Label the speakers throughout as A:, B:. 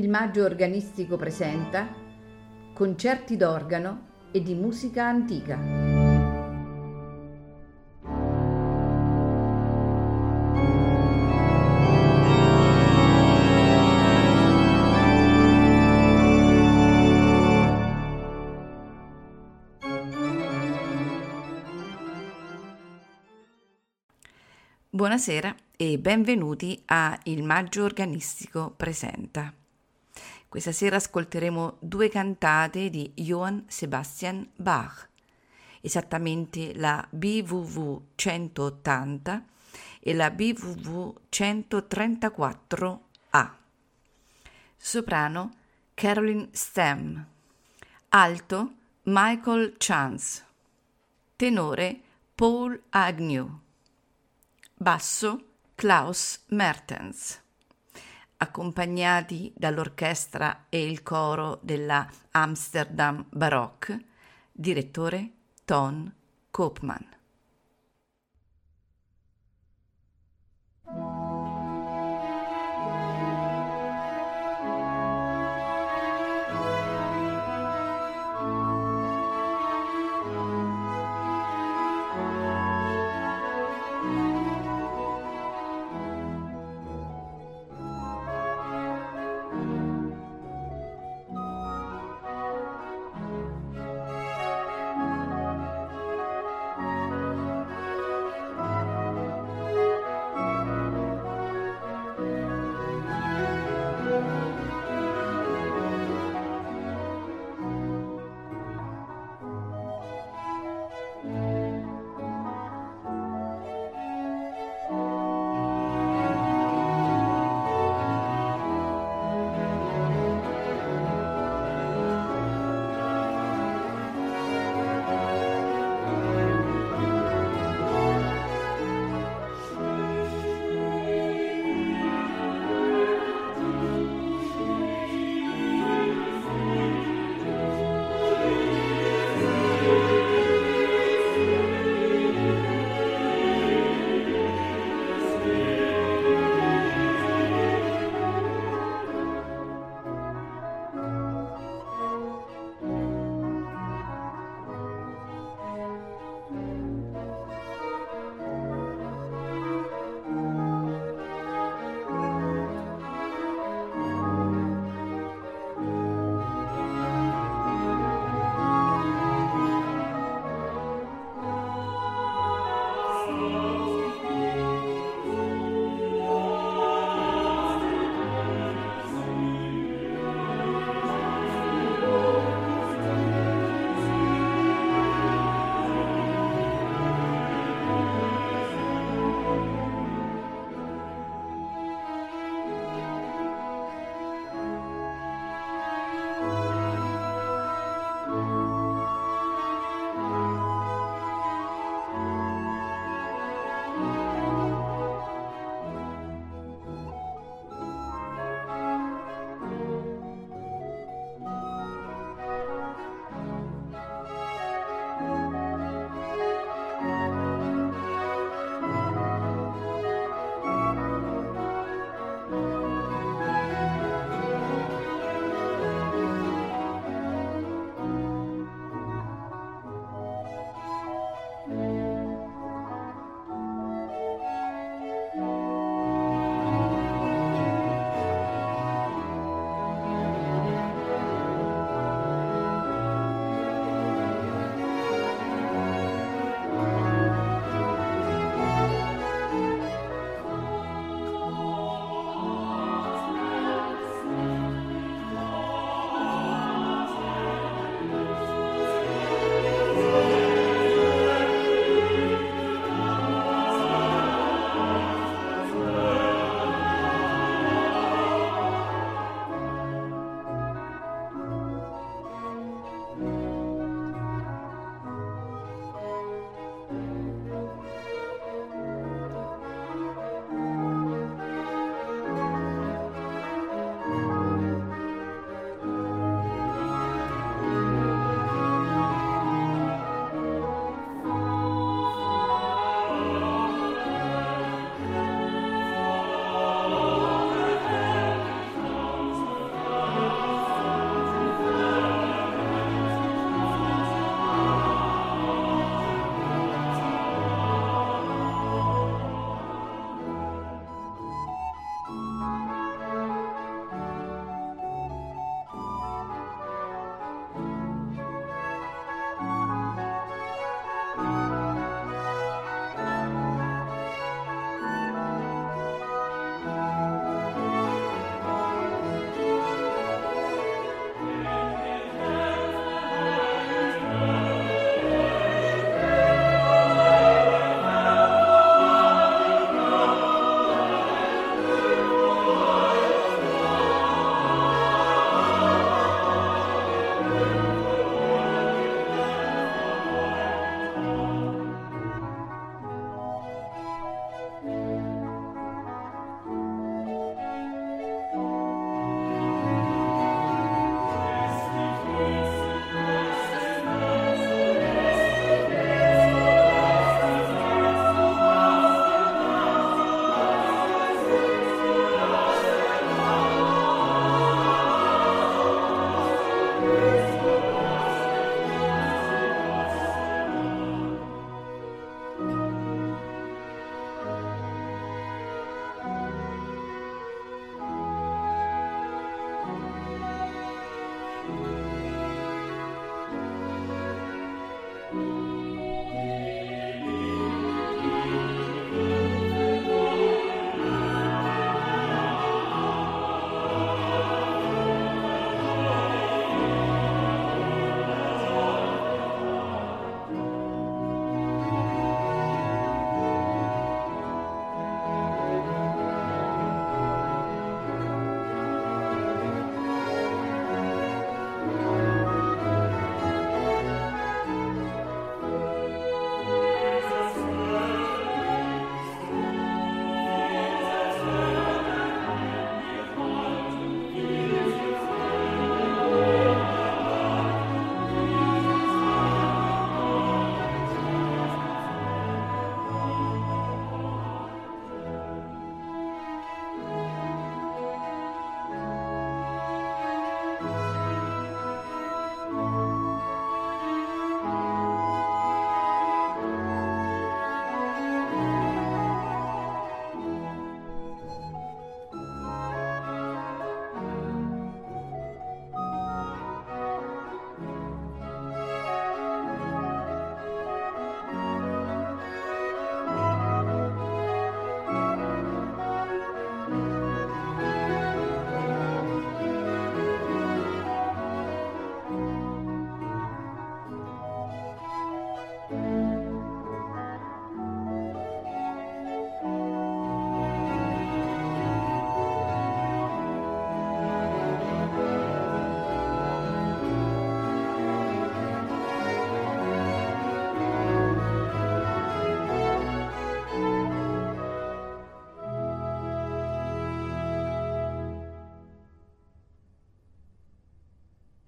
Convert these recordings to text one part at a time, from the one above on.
A: Il Maggio Organistico presenta concerti d'organo e di musica antica. Buonasera e benvenuti a Il Maggio Organistico presenta. Questa sera ascolteremo due cantate di Johann Sebastian Bach, esattamente la BWV 180 e la BWV 134A. Soprano Caroline Stem, alto Michael Chance, tenore Paul Agnew, basso Klaus Mertens, accompagnati dall'orchestra e il coro della Amsterdam Baroque, direttore Ton Koopman.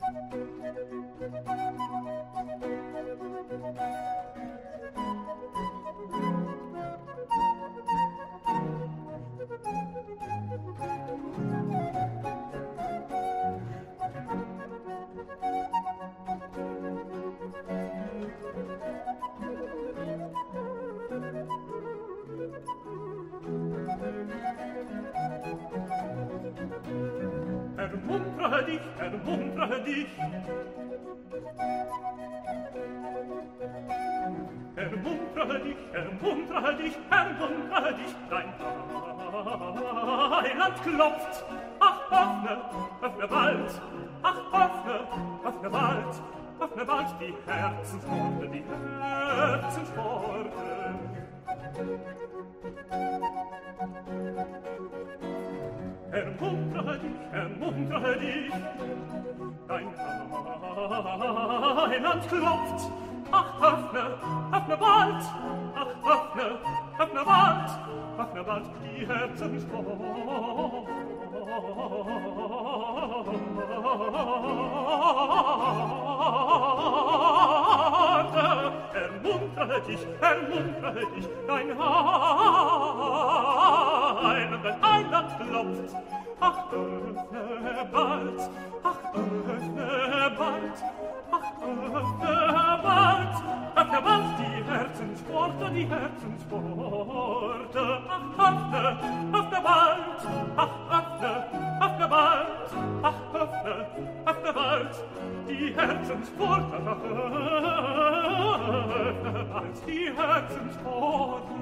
B: Ermuntre dich, ermuntre dich. Ermuntre dich, ermuntre dich, ermuntre dich, dein Heiland klopft. Ach, öffne, öffne bald, ach, öffne, öffne bald, öffne bald die Herzenspforte, die Herzenspforte. Ermuntre dich, dein Heiland klopft. Ach, öffne, öffne bald, ach, öffne, öffne bald, öffne bald die Herzenspforte. Ermuntre dich, dein Heiland klopft. Ach, öffne bald, ach, öffne bald, ach, öffne bald, öffne bald die Herzenspforte, die Herzenspforte. Ach, öffne, öffne bald, ach, öffne, öffne bald, ach, öffne, öffne bald die Herzenspforte. Ach, öffne bald die Herzenspforte.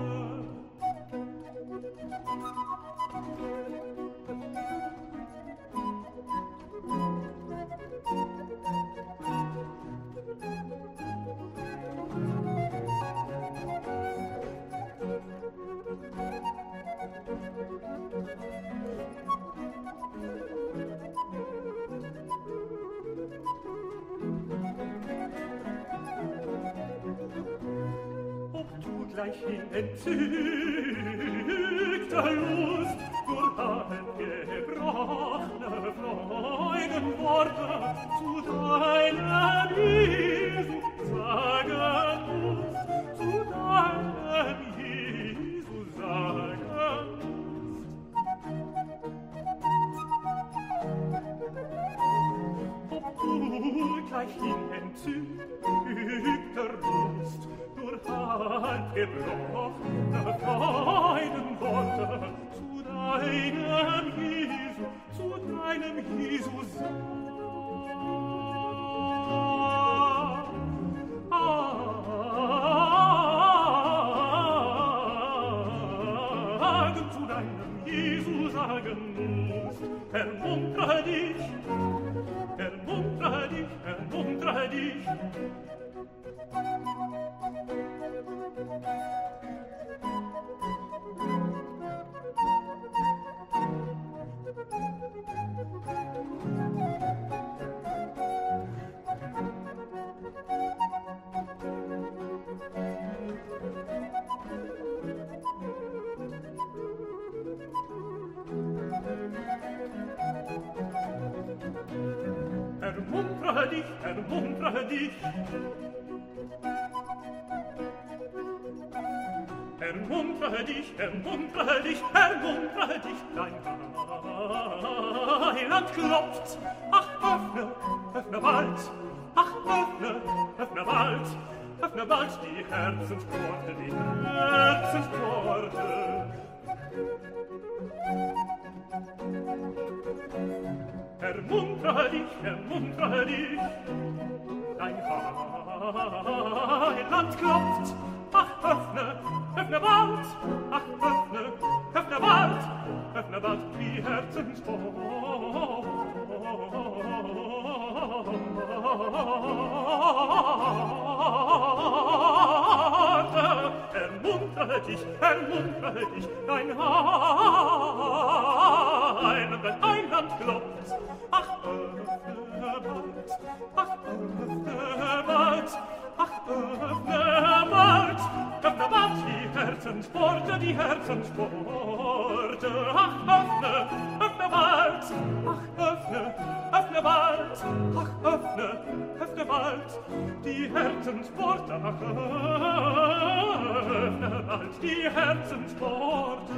B: Gleich in entzückter Lust durch gebrochene Freudenworte zu deinem Jesu sagen musst, zu deinem Jesu sagen musst. Ob du gleich in entzückter Lust durch gebrochene Freudenworte zu deinem Jesu sagen musst. Ermuntre dich, ermuntre dich, ermuntre dich. Ermuntre dich, ermuntre dich. Ermuntre dich, ermuntre dich, ermuntre dich, dein Heiland klopft. Ach, öffne, öffne bald, ach, öffne, öffne bald, öffne bald die Herzenspforte, die Herzenspforte. Ermuntre dich, dein Heiland klopft. Ach, öffne, öffne bald, ach, öffne, öffne bald, öffne bald die Herzenspforte. Ermuntre dich, dein Heiland klopft. Ach, öffne bald, ach, öffne bald, ach, öffne bald, öffne bald die Herzenspforte, die Herzenspforte. Ach, öffne, öffne bald, ach, öffne, öffne bald, bald, ach, öffne, öffne bald die Herzenspforte, ach, öffne bald die Herzenspforte.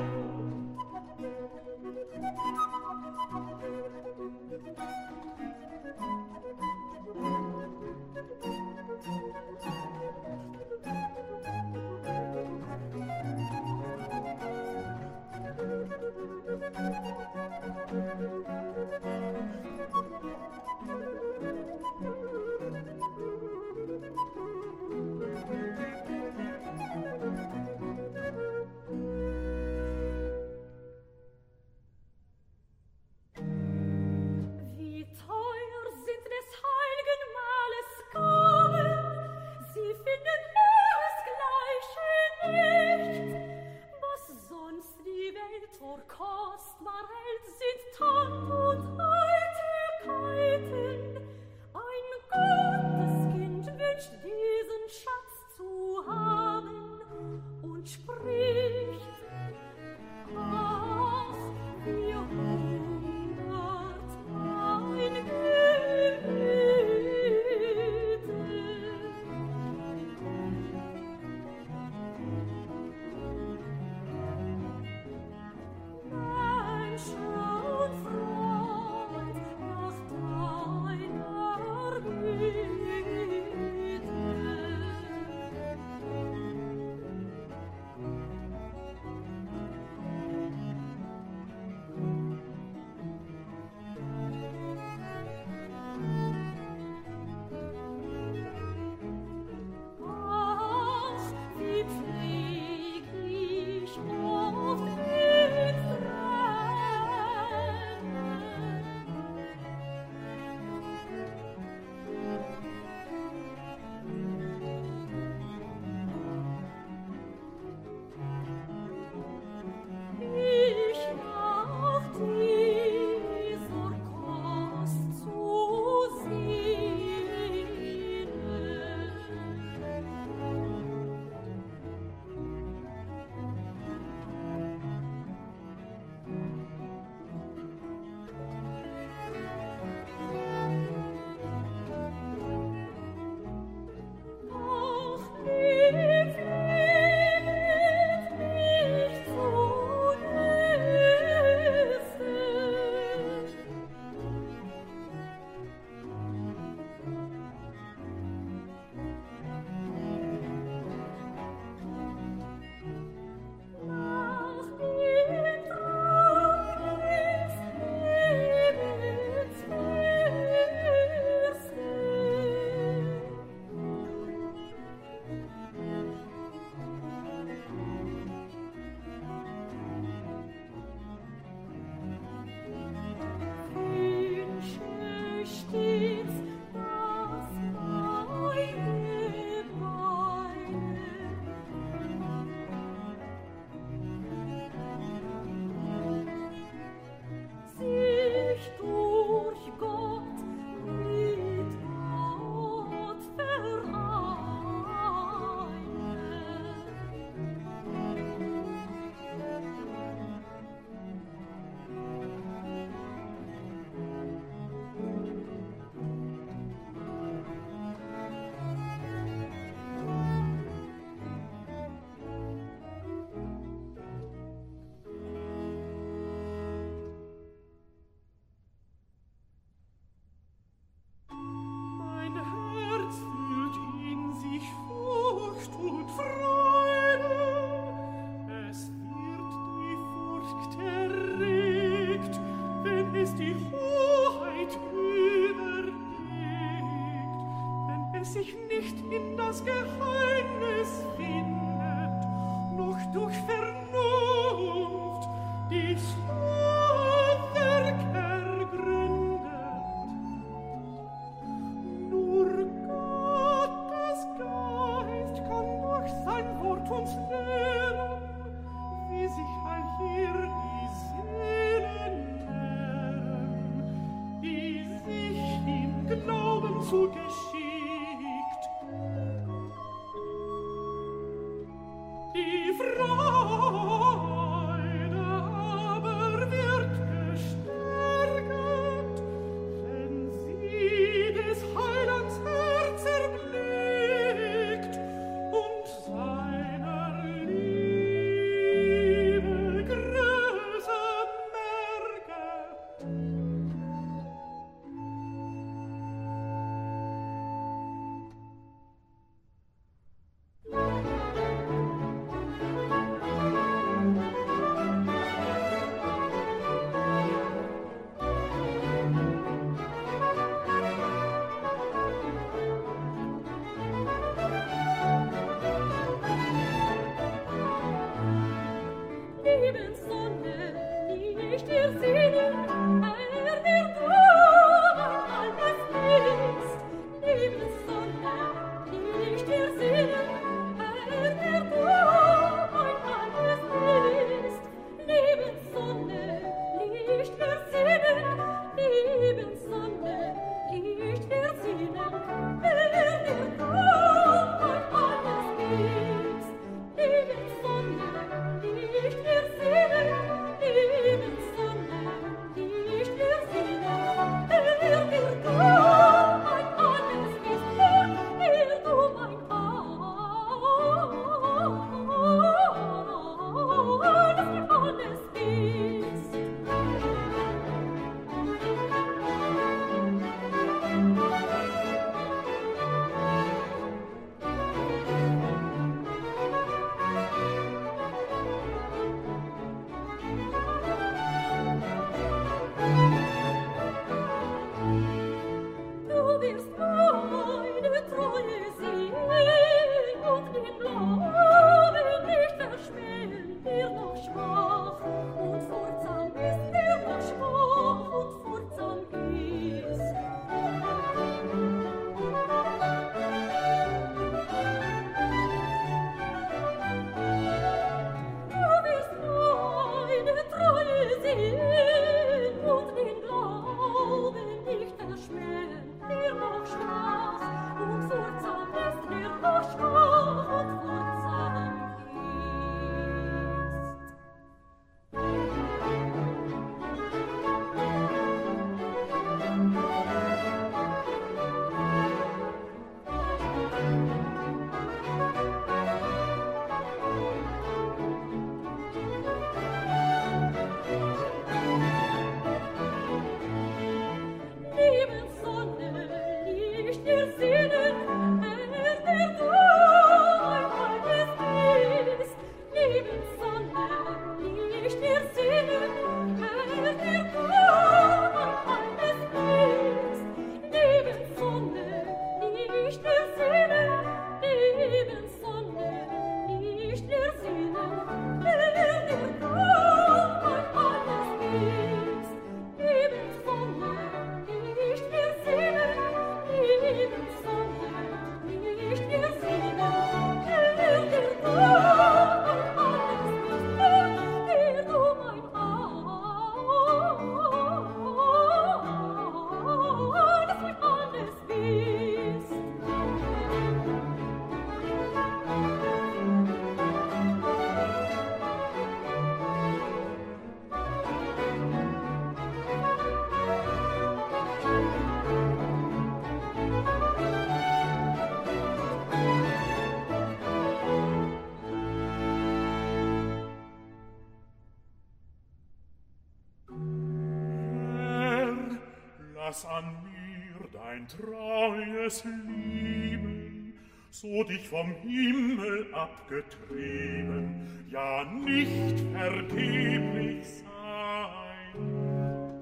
B: dass an mir dein treues Lieben so dich vom Himmel abgetrieben, ja nicht vergeblich sein.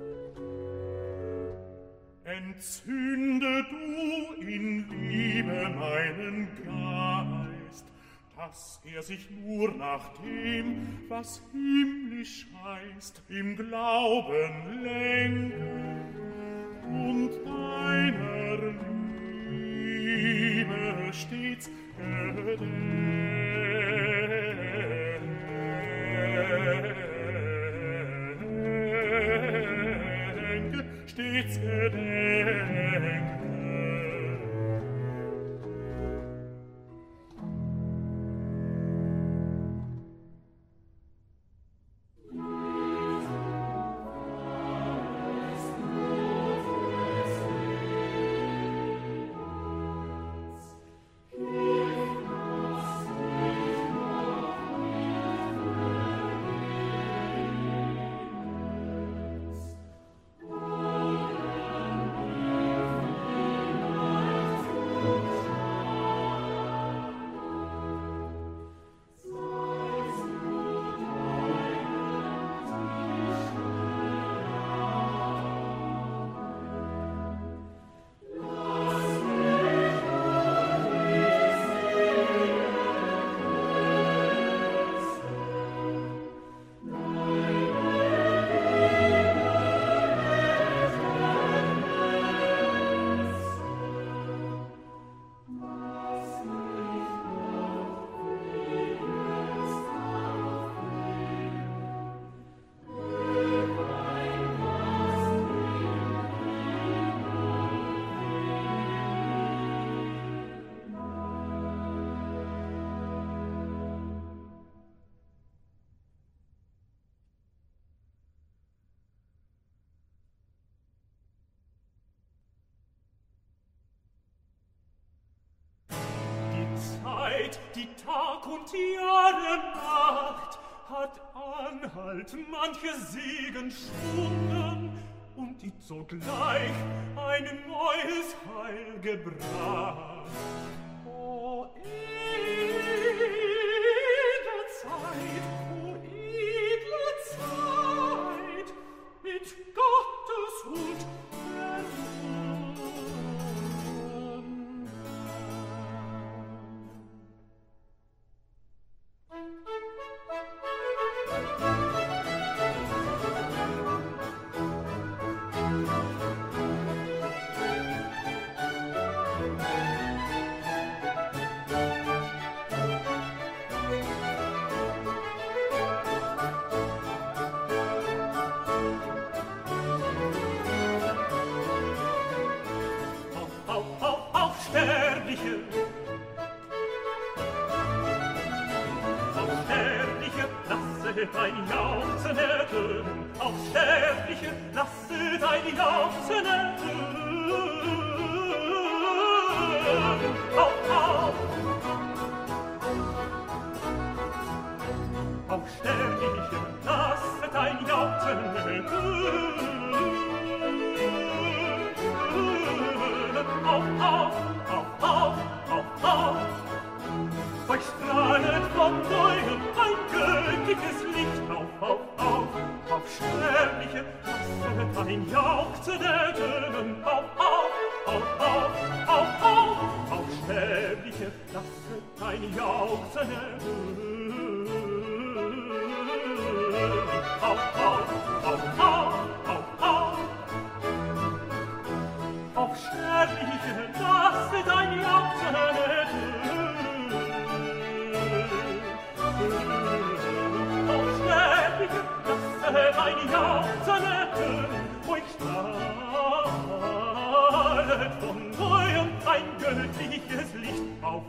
B: Entzünde du in Liebe meinen Geist, dass er sich nur nach dem, was himmlisch heißt, im Glauben lenke und deiner Liebe stets gedenke, stets gedenke. Die Tag und Jahre Nacht hat Anhalt manche Segensstunden und die sogleich ein neues Heil gebracht. O edle Zeit, mit Gottes Huld dein Jauchzen ertönen, auf Sterbliche, lasse dein Jauchzen ertönen. Auf Sterbliche, lasse dein Jauchzen ertönen. Auf, euch strahlet von neuem ein göttliches Licht auf Sterbliche, lasse dein Jauchzen ertönen, auf Sterbliche, lasse dein Jauchzen ertönen, auf Sterbliche, lasse dein Jauchzen ertönen, auf Sterbliche, lasse dein Jauchzen ertönen, euch strahlet von neuem ein göttliches Licht auf.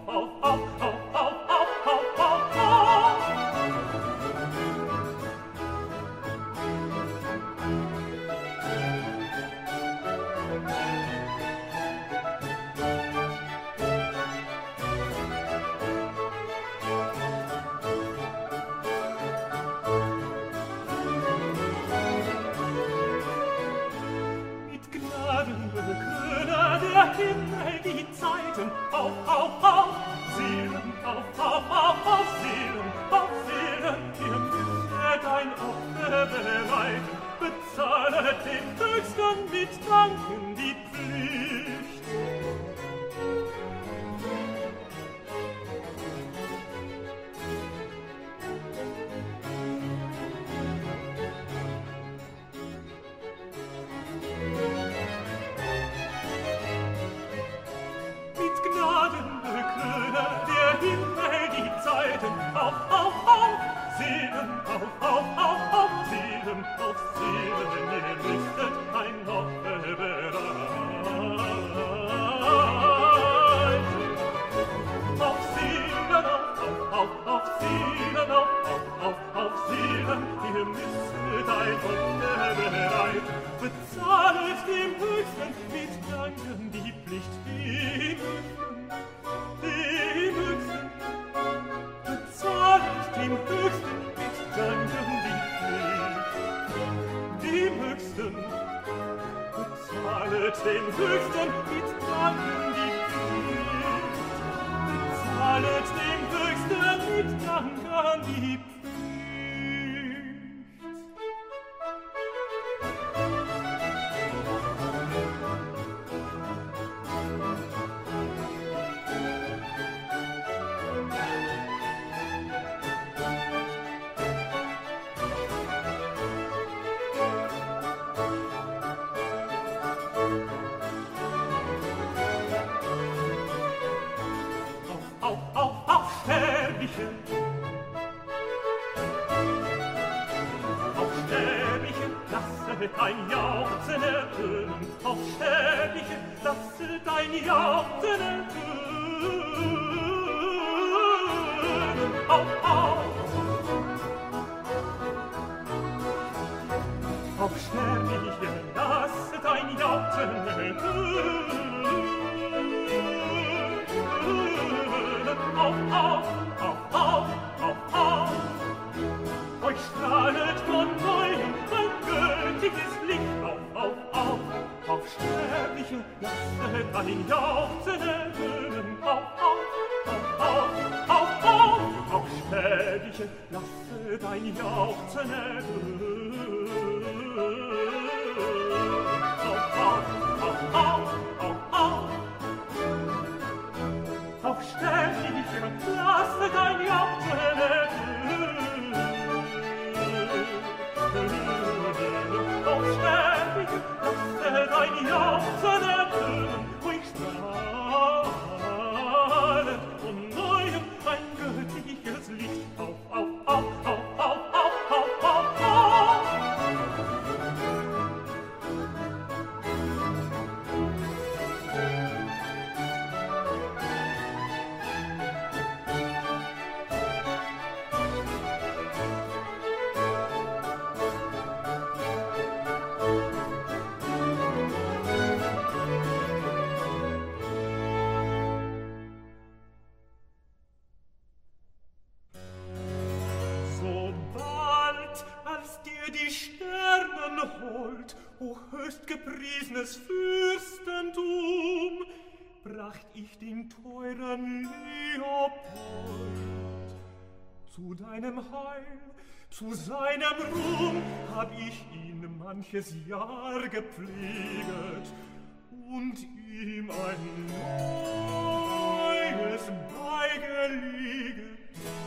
B: der Himmel die Zeiten auf, Seelen, auf, Seelen, ihr müsset ein Opfer bereiten, bezahle dem Höchsten mit Danken die Pflicht. Mit Gnaden bekröne der Himmel die Zeiten auf, Seelen, auf, Seelen, ihr müsstet ein Opfer bereiten. Auf Seelen, auf Seelen, ihr müsstet ein Opfer bereiten. Bezahlet dem Höchsten mit Danken die Pflicht, dem Höchsten. Bezahlet dem Höchsten mit Danken die Pflicht, dem Höchsten. Bezahlet dem Höchsten mit Danken die Pflicht, bezahlet dem Höchsten mit Danken die Pflicht. Auf Sterbliche, lasset ein Jauchzen ertönen, auf Sterbliche, lasset ein Jauchzen ertönen, auf Sterbliche, lasset ein Jauchzen ertönen, auf, euch strahlet von neuem ein göttliches Licht, auf Sterbliche, lasset ein Jauchzen ertönen, auf Sterbliche, lasset ein Jauchzen ertönen, auf Sterbliche, lasset ein Jauchzen ertönen, auf Sterbliche, lasset ein Jauchzen ertönen, euch strahlet von neuem ein göttliches Licht, auf. O höchstgepriesenes Fürstentum, bracht ich den teuren Leopold zu deinem Heil, zu seinem Ruhm hab ich ihn manches Jahr gepfleget und ihm ein neues beigelegt.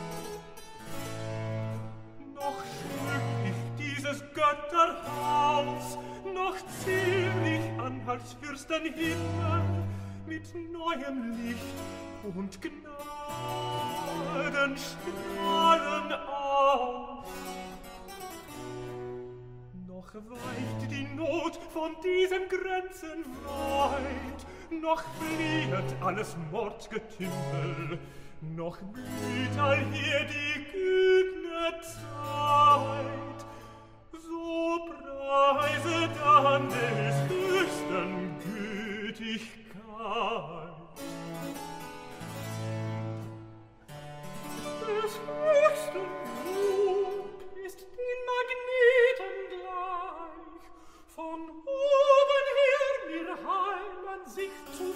B: Noch schmück ich dieses Götterhaus, noch zähl ich an als Fürstenhimmel mit neuem Licht und Gnadenstrahlen auf. Noch weicht die Not von diesen Grenzen weit, noch fliehet alles Mordgetümmel, noch blüht allhier die gütne Zeit. So preise dann des höchsten Gütigkeit. Des höchsten Lob ist den Magneten gleich, von oben her mir heim an sich zu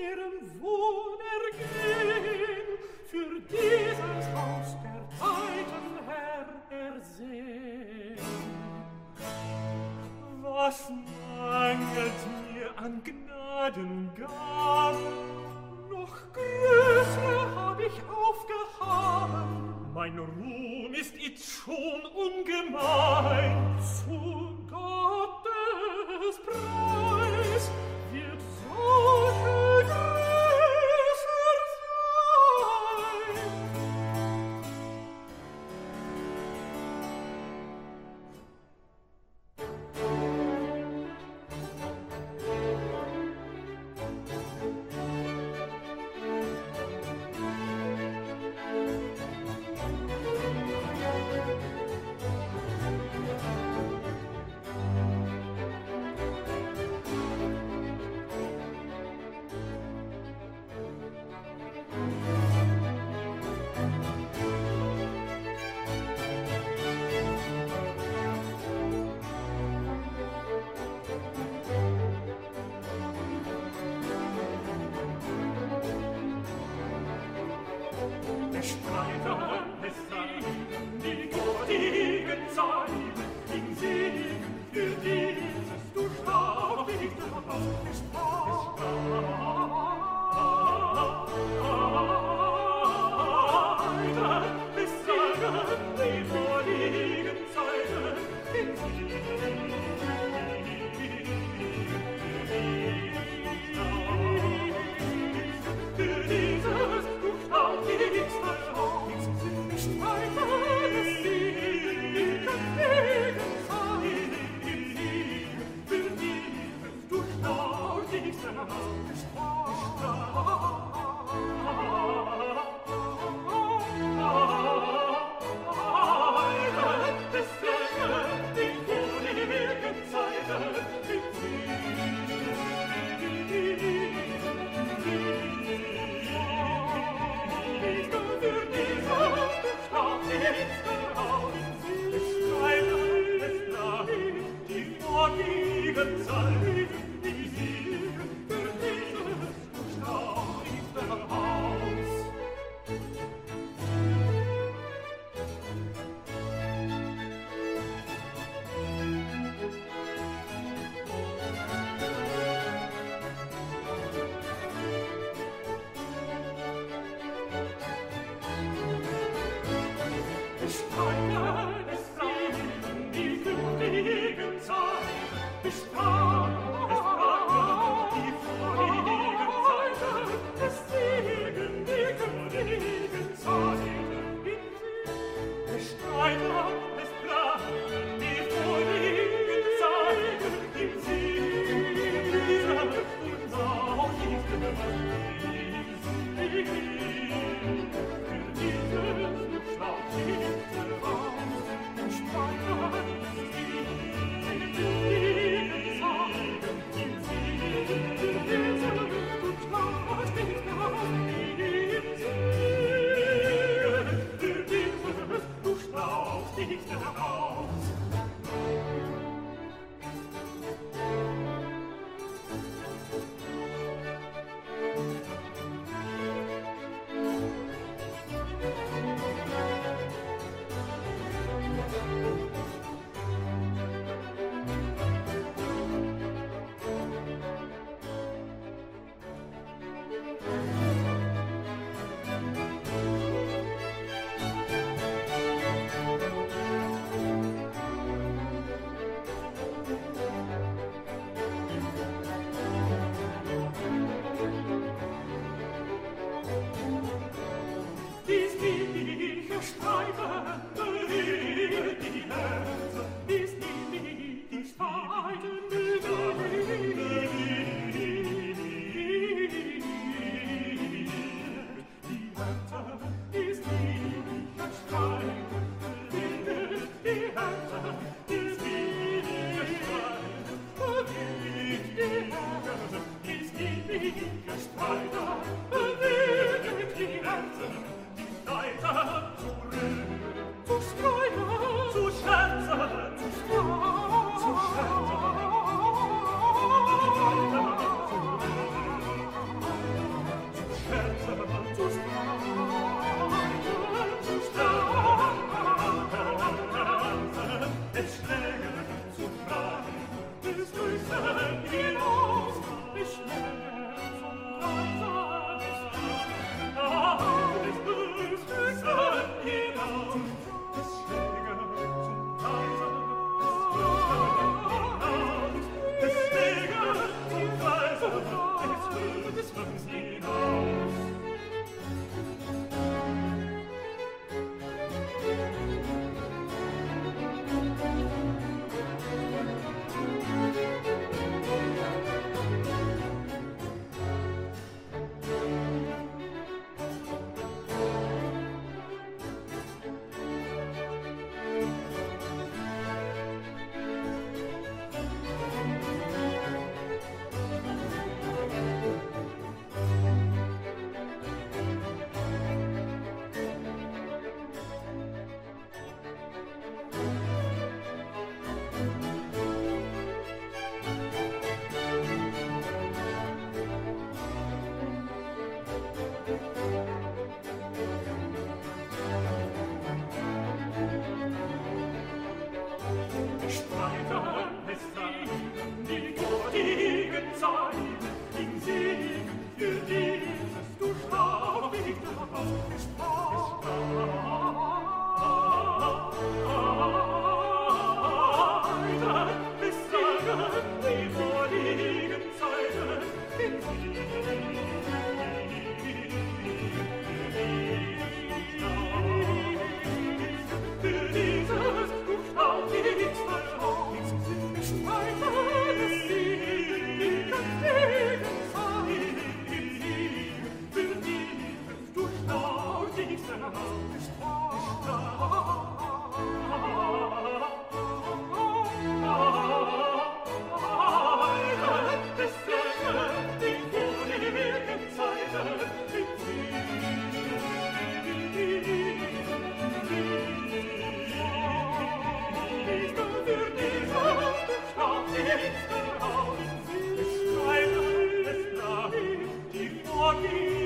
B: ihrem Wohnergehen für dieses Haus der Zeiten Herr ersehen. Was mangelt mir an Gnadengaben? Noch größere hab ich aufgehaben. Mein Ruhm ist itzt schon ungemein. Zu Gottes Preis wird solche größer sein.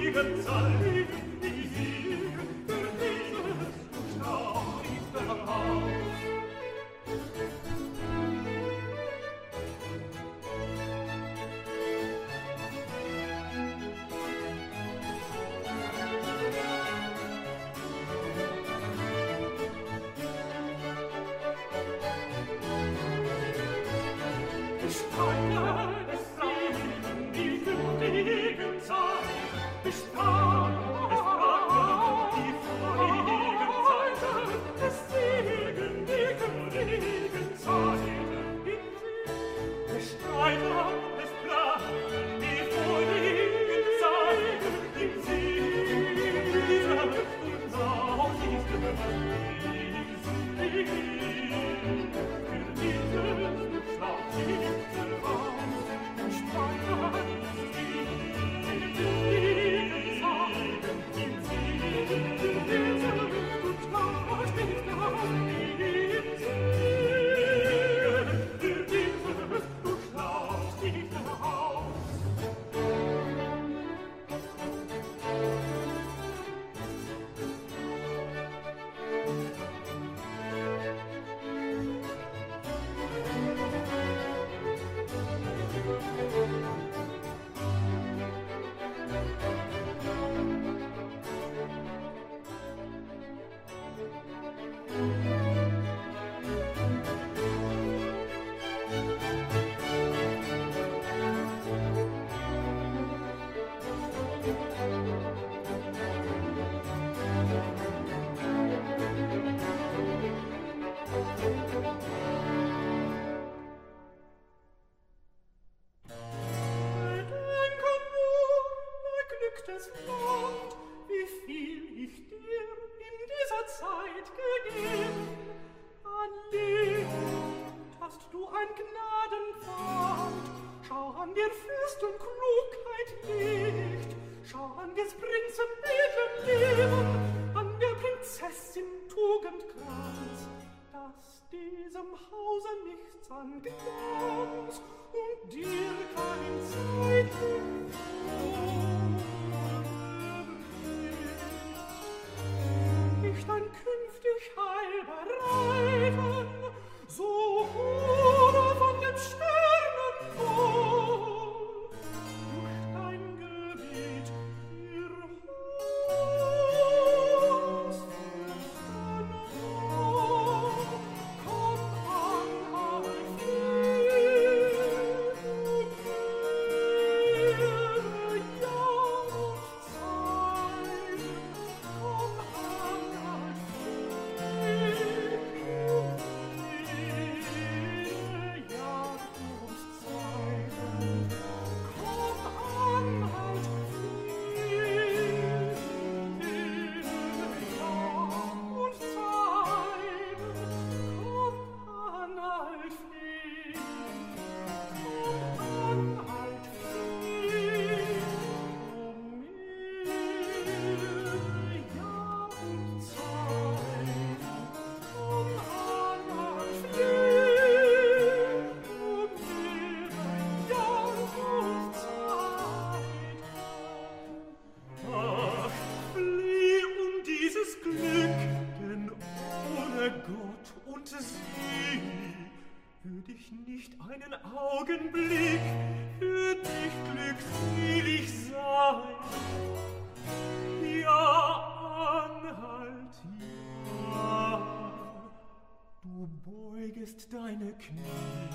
B: Deine Knie,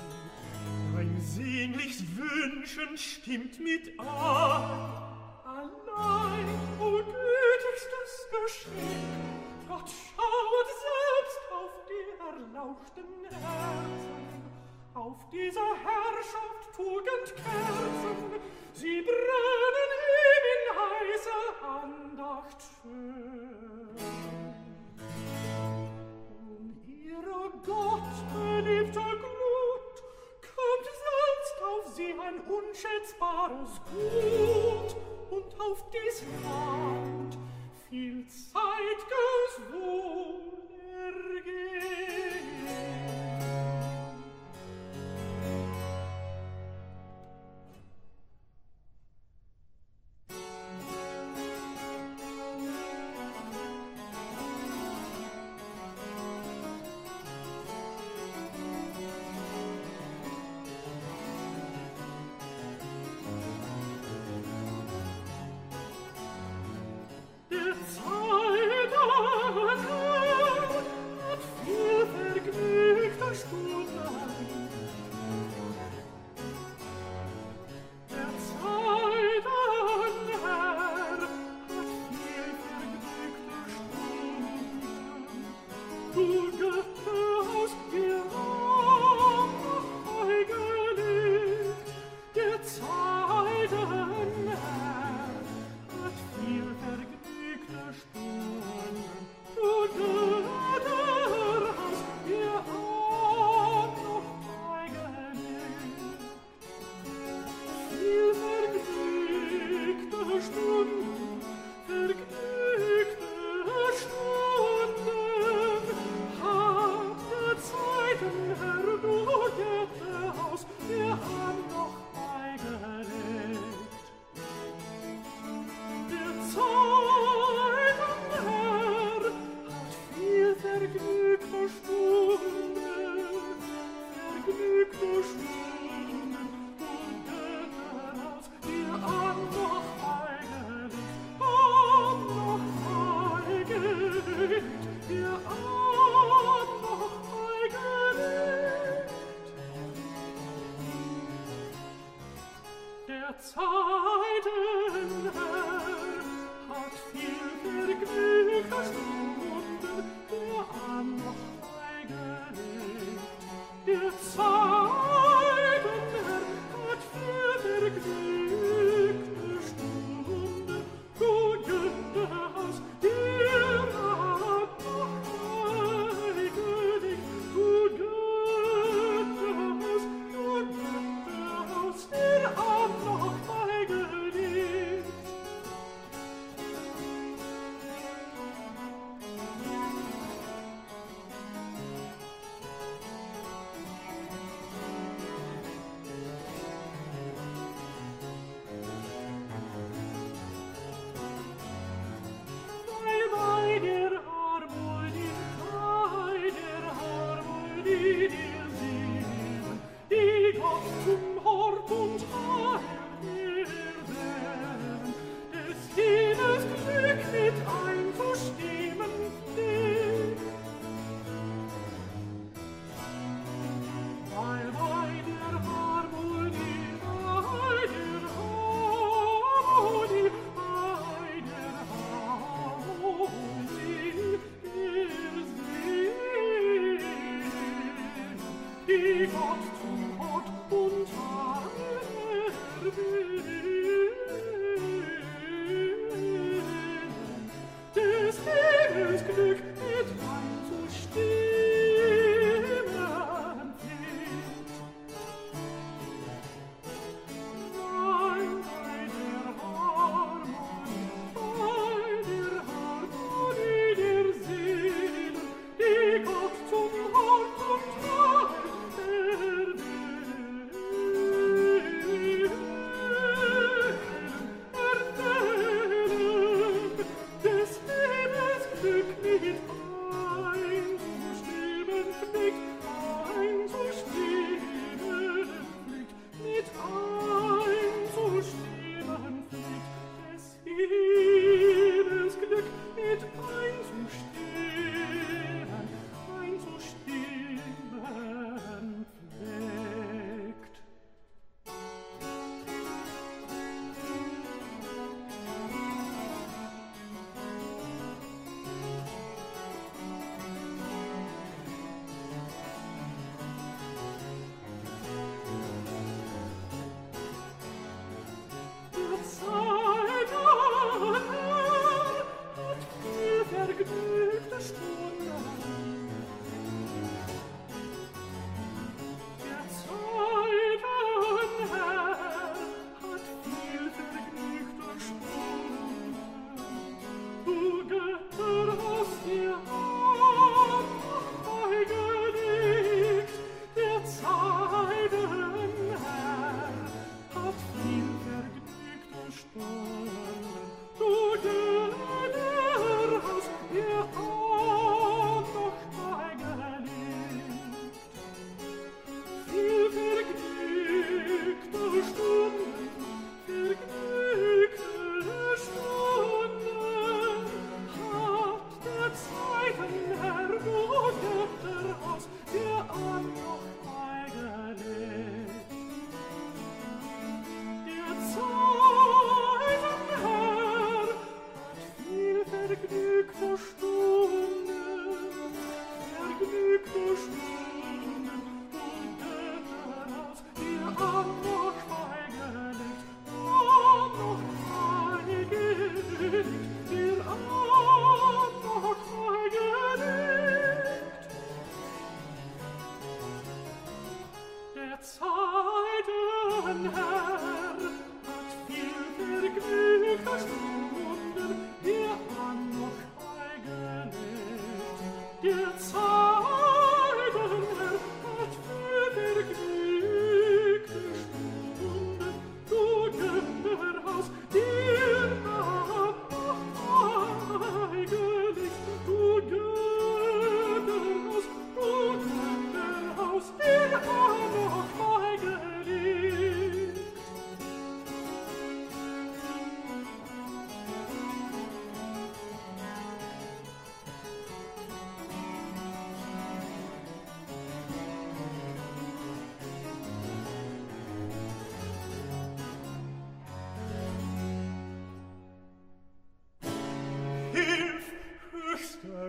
B: dein sehnlichst Wünschen stimmt mit an. Allein, o gütigstes Geschenk, Gott schauet selbst auf die erlauchten Herzen, auf dieser Herrschaft Tugendkerzen, sie brennen ihm in heißer Andacht schön. Ihre gottbeliebte Glut kommt selbst auf sie ein unschätzbares Gut und auf dies Land viel zeitges Wohlergehen. Der Zeiten Herr hat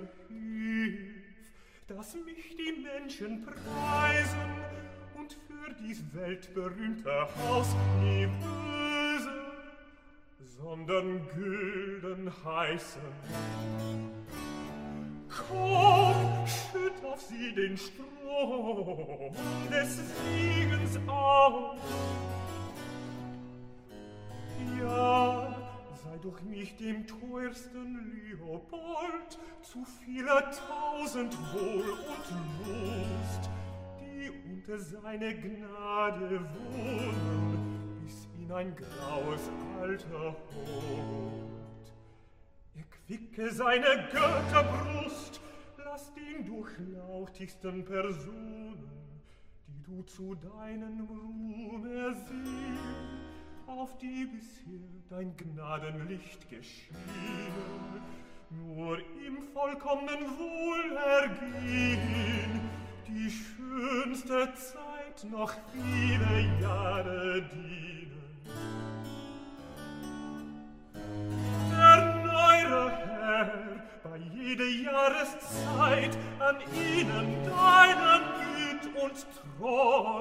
B: hilf, dass mich die Menschen preisen und für dies weltberühmte Haus nie böse, sondern gülden heißen. Komm, schütt auf sie den Strom des Siegens aus. Ja, sei durch mich dem teuersten Leopold zu vieler tausend Wohl und Lust, die unter seine Gnade wohnen, bis in ein graues Alter holt. Erquicke seine Götterbrust, lass den durchlauchtigsten Personen, die du zu deinem Ruhm ersehen, auf die bisher dein Gnadenlicht geschienen, nur im vollkommenen Wohlergehen die schönste Zeit noch viele Jahre dienen. Erneuere, Herr, bei jeder Jahreszeit an ihnen deinen Güt und Treu.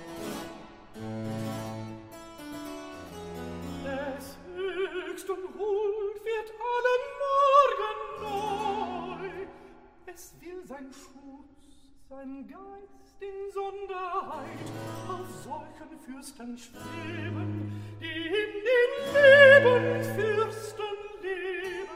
B: Es höchst und Huld wird allen Morgen neu. Es will sein Schutz, sein Geist in Sonderheit auf solchen Fürsten schweben, die in den Lebensfürsten leben.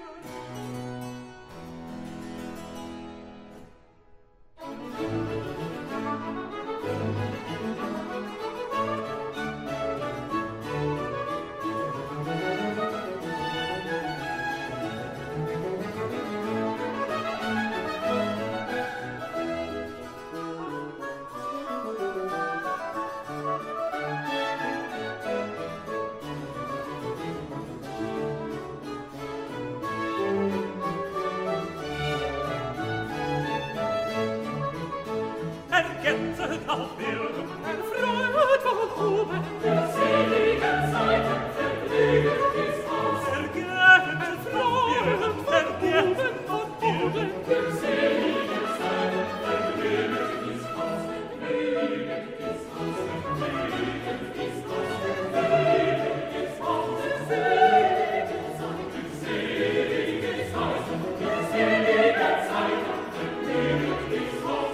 B: Ergänzet auf Bildung, erfreut von oben, der seligen Zeiten vergnügen ist aus. Ergänzet auf Bildung, ergänzet von oben, der seligen Zeiten vergnügen ist aus. Vergnügen ist aus, vergnügen ist aus, vergnügen ist aus. Selige Zeiten, selige Zeiten, selige Zeiten, vergnügen ist aus.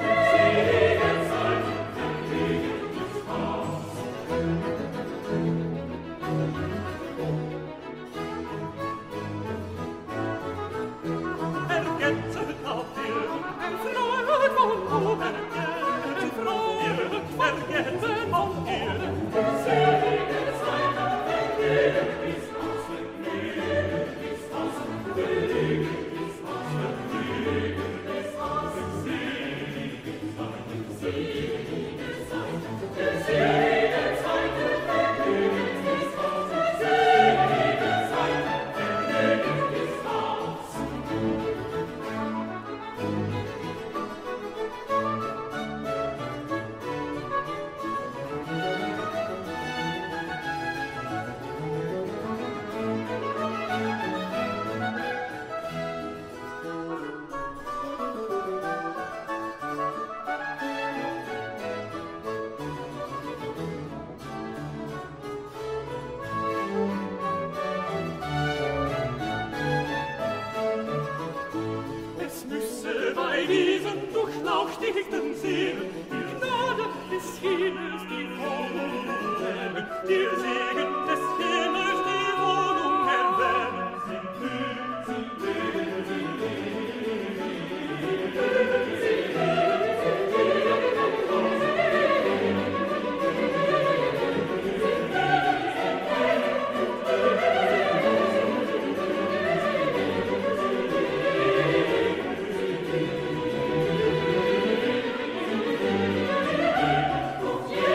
B: Durchlauchtigten Seelen, die Gnade des Himmels, die Wohnung erwähnen, der Segen des Himmels, die Wohnung erwähnen. Sie leben, sie leben, sie leben, sie yeah.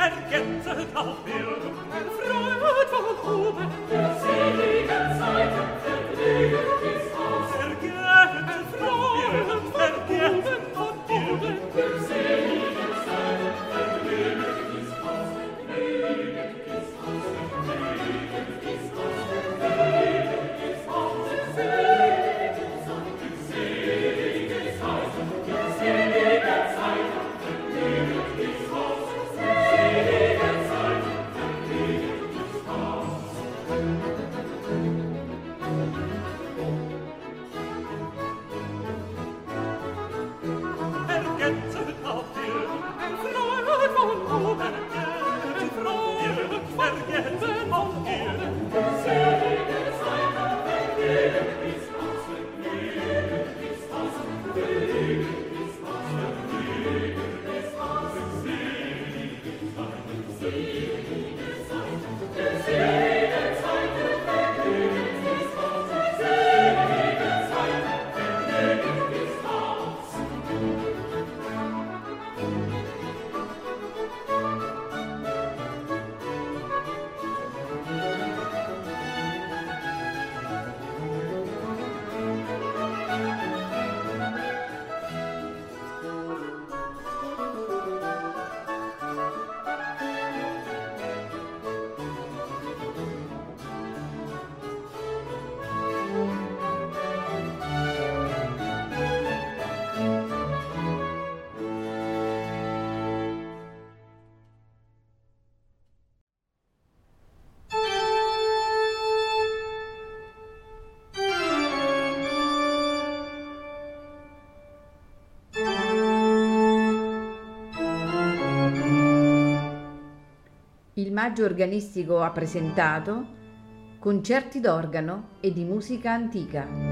B: ergetzet auf Erden, erfreut von oben, der seligen Zeiten vergnügt ist aus. Ergetzet freut, ergetzet von oben, der seligen Zeiten vergnügt ist aus. Vergnügt ist aus, vergnügt ist aus, vergnügt ist aus, selige Zeiten, selige Zeiten, selige Zeiten, vergnügt ist aus. Selige Zeiten, vergnügt ist aus. Ergetzet auf Erden, erfreut von oben, ergetzet Freude, ergetzet auf Erden, selige Zeiten, vergnügt ist aus, vergnügt ist aus, vergnügt ist aus, vergnügt ist aus, selige Zeiten, selige Zeiten, selige Zeiten, vergnügt ist aus, selige Zeiten, vergnügt ist aus.
A: Il Maggio Organistico ha presentato Concerti d'organo e di musica antica.